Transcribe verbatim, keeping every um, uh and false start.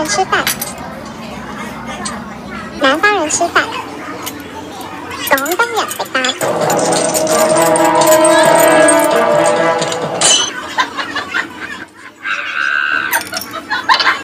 吃饭，南方人吃饭，港燈人食飯。